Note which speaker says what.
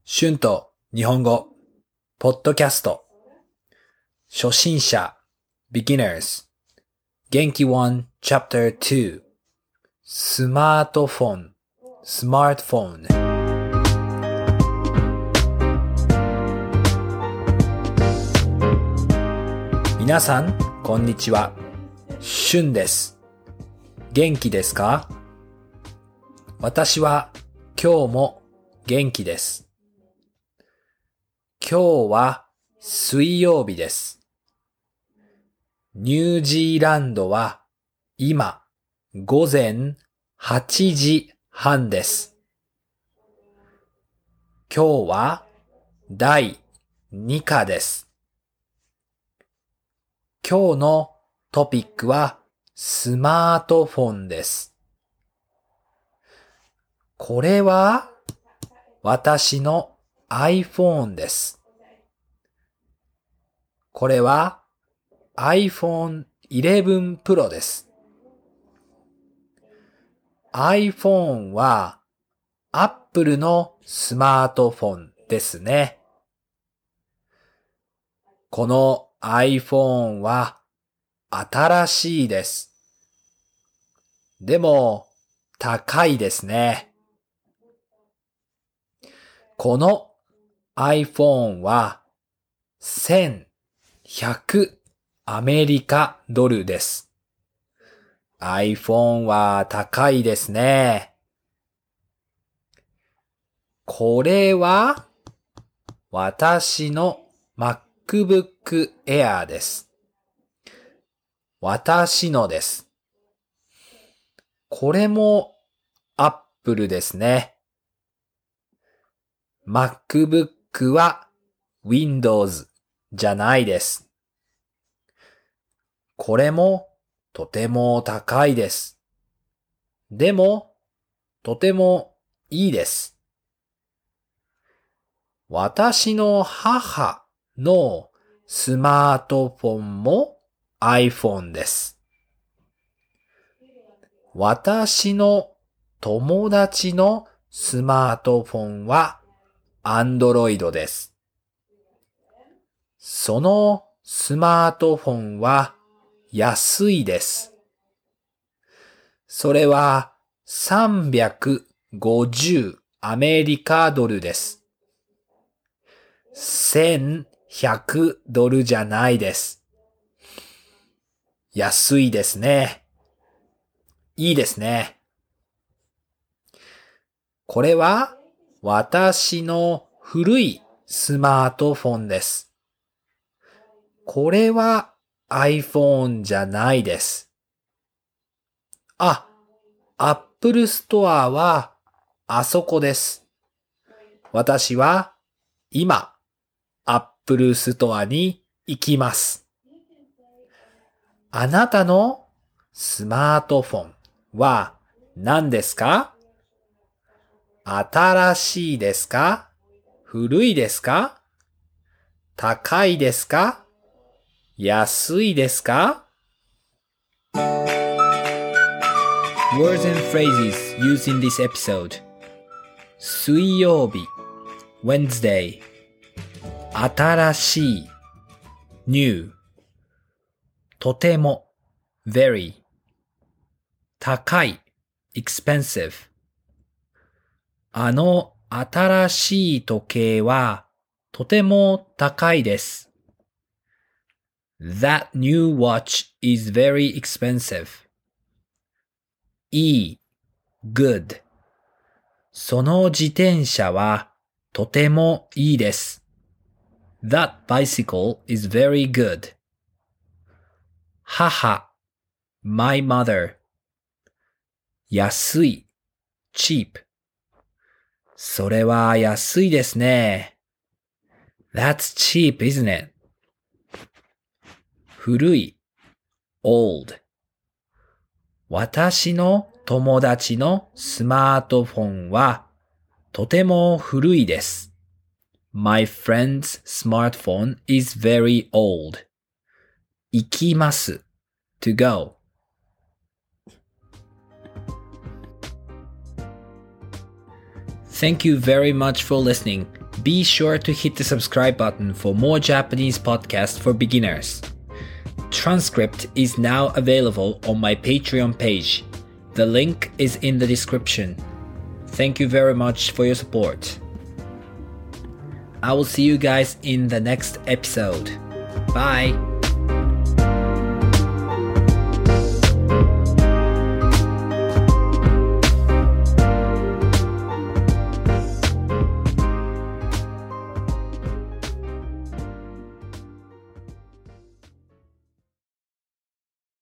Speaker 1: 春と日本語、ポッドキャスト、初心者、beginners、元気1 Chapter 2、スマートフォン、smartphone。皆さん、こんにちは。春です。元気ですか？私は今日も元気です。今日は水曜日です。ニュージーランドは今午前8時半です。今日は第2課です。今日のトピックはスマートフォンです。これは私の iPhone です。これは iPhone 11 Pro です。iPhone は Apple のスマートフォンですね。この iPhone は新しいです。でも高いですね。この iPhone は1100アメリカドルです。iPhone は高いですね。これは私の MacBook Air です。私のです。これも Apple ですね。MacBook は Windows じゃないです。これもとても高いです。でもとてもいいです。私の母のスマートフォンも iPhone です。私の友達のスマートフォンは Android です。そのスマートフォンは安いです。それは350アメリカドルです。1100ドルじゃないです。安いですね。いいですね。これは私の古いスマートフォンです。これは iPhone じゃないです。Apple Store はあそこです。私は今Apple Store に行きます。あなたのスマートフォンは何ですか？新しいですか？古いですか？高いですか？安いですか？ Words and phrases used in this episode. 水曜日 Wednesday 新しい New とても Very 高い Expensive あの新しい時計はとても高いです。That new watch is very expensive. いい Good その自転車はとてもいいです。That bicycle is very good. 母 My mother 安い Cheap それは安いですね。That's cheap, isn't it? 古い Old 私の友達のスマートフォンはとても古いです。My friend's smartphone is very old. 行きます to go. Thank you very much for listening. Be sure to hit the subscribe button for more Japanese podcasts for beginners. Transcript is now available on my Patreon page. The link is in the description. Thank you very much for your support. I will see you guys in the next episode. Bye!